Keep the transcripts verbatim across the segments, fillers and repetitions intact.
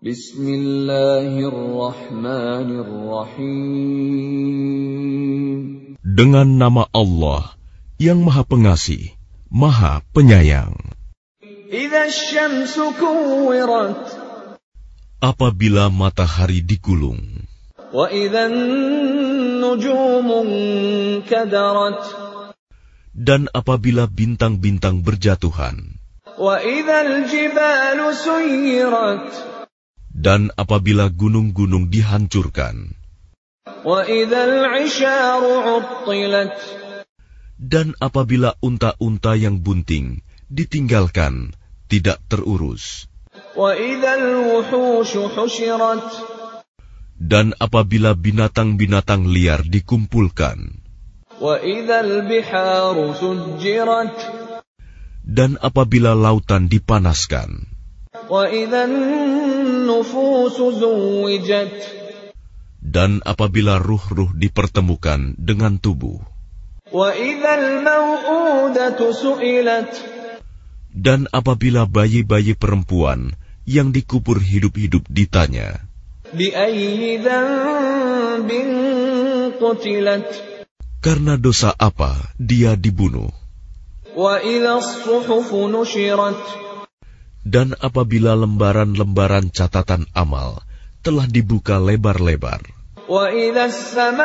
Bismillahirrahmanirrahim. Dengan nama Allah yang Maha Pengasih, Maha Penyayang. Idza asy-syamsu kuwirat. Apabila matahari digulung. Wa idza an-nujumu kadarat. Dan apabila bintang-bintang berjatuhan. Wa idzal jibalu suyirat. Dan apabila gunung-gunung dihancurkan. Wa idzal 'isharu 'uttilat. Dan apabila unta-unta yang bunting ditinggalkan, tidak terurus. Wa idzal wuhushu husyirat. Dan apabila binatang-binatang liar dikumpulkan. Wa idzal biharu sujjirat. Dan apabila lautan dipanaskan. Wa idzan nufusu zuwijat. Dan apabila ruh-ruh dipertemukan dengan tubuh. Wa idzal mau'udatu su'ilat. Dan apabila bayi-bayi perempuan yang dikubur hidup-hidup ditanya. Bi ayyi dzanbin qutilat. Karena dosa apa dia dibunuh. Wa idzas suhufu nushirat. Dan apabila lembaran-lembaran catatan amal telah dibuka lebar-lebar. Wa idzas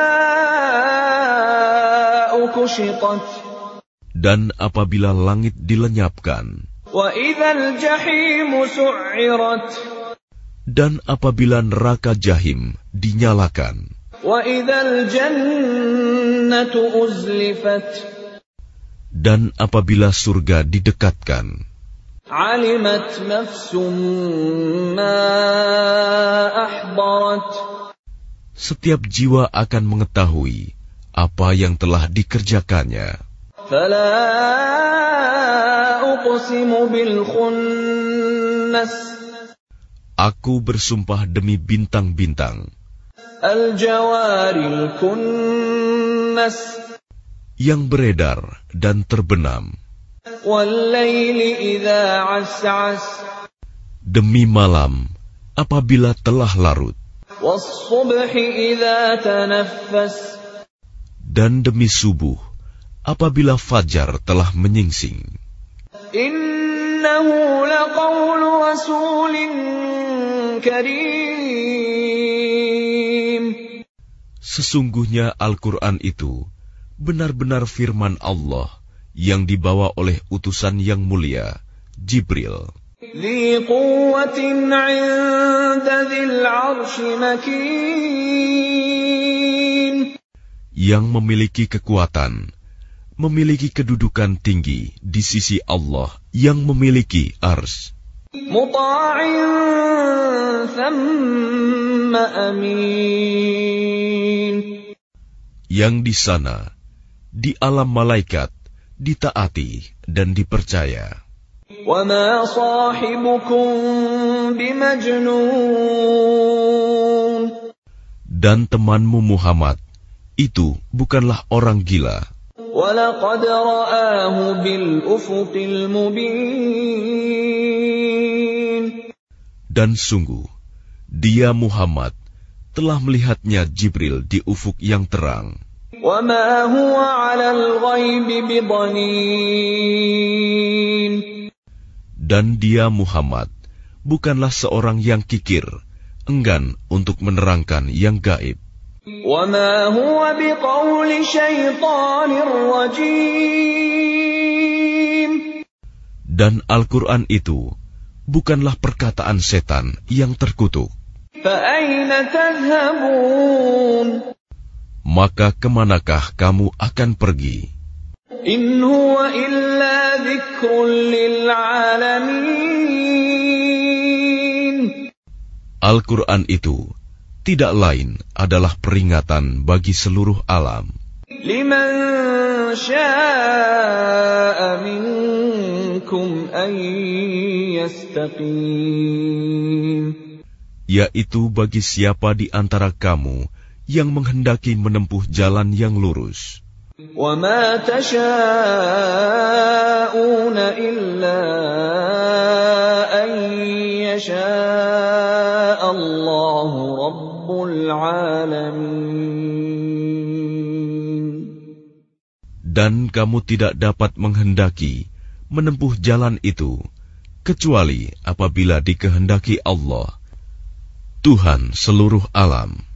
samaa'u kushitat. Dan apabila langit dilenyapkan. Wa idzal jahimu su'irat. Dan apabila neraka jahim dinyalakan. Wa idzal jannatu uzlifat. Dan apabila surga didekatkan. Alimat nafsum ma ahdarat. Setiap jiwa akan mengetahui apa yang telah dikerjakannya. Fala uqsimu bil khunnas. Aku bersumpah demi bintang-bintang. Al jawaril kunnas. Yang beredar dan terbenam. Wal-laili idza as'as. Demi malam apabila telah larut. Was-subhi idza tanaffas. Dan demi subuh apabila fajar telah menyingsing. Innahu laqawlu rasulin karim. Sesungguhnya Al-Quran itu benar-benar firman Allah yang dibawa oleh utusan yang mulia, Jibril. Dzi quwwatin 'inda dzil 'arsy makin. Yang memiliki kekuatan, memiliki kedudukan tinggi di sisi Allah yang memiliki ars. Muta'in thamma amin. Yang di sana, di alam malaikat, ditaati dan dipercaya. Wa ma sahibukum bimajnun. Dan temanmu Muhammad itu bukanlah orang gila. Wa laqad ra'ahu bil ufuqil mubin. Dan sungguh, dia Muhammad telah melihatnya Jibril di ufuk yang terang. Wa ma huwa 'alal ghaibi bidhanin. Dan dia Muhammad bukanlah seorang yang kikir, enggan untuk menerangkan yang gaib. Wa ma huwa biqauli syaitanir rajim. Dan Al-Quran itu bukanlah perkataan setan yang terkutuk. Fa aina tadhhabun. Maka kemanakah kamu akan pergi? In huwa illa dzikrun lil alamin. Al-Quran itu tidak lain adalah peringatan bagi seluruh alam. Liman syaa'a minkum an yastaqim. Yaitu bagi siapa di antara kamu yang menghendaki menempuh jalan yang lurus. وَمَا تَشَاءُونَ إِلَّا أَن يَشَاءَ Allahu Rabbul Alamin. Dan kamu tidak dapat menghendaki menempuh jalan itu, kecuali apabila dikehendaki Allah, Tuhan seluruh alam.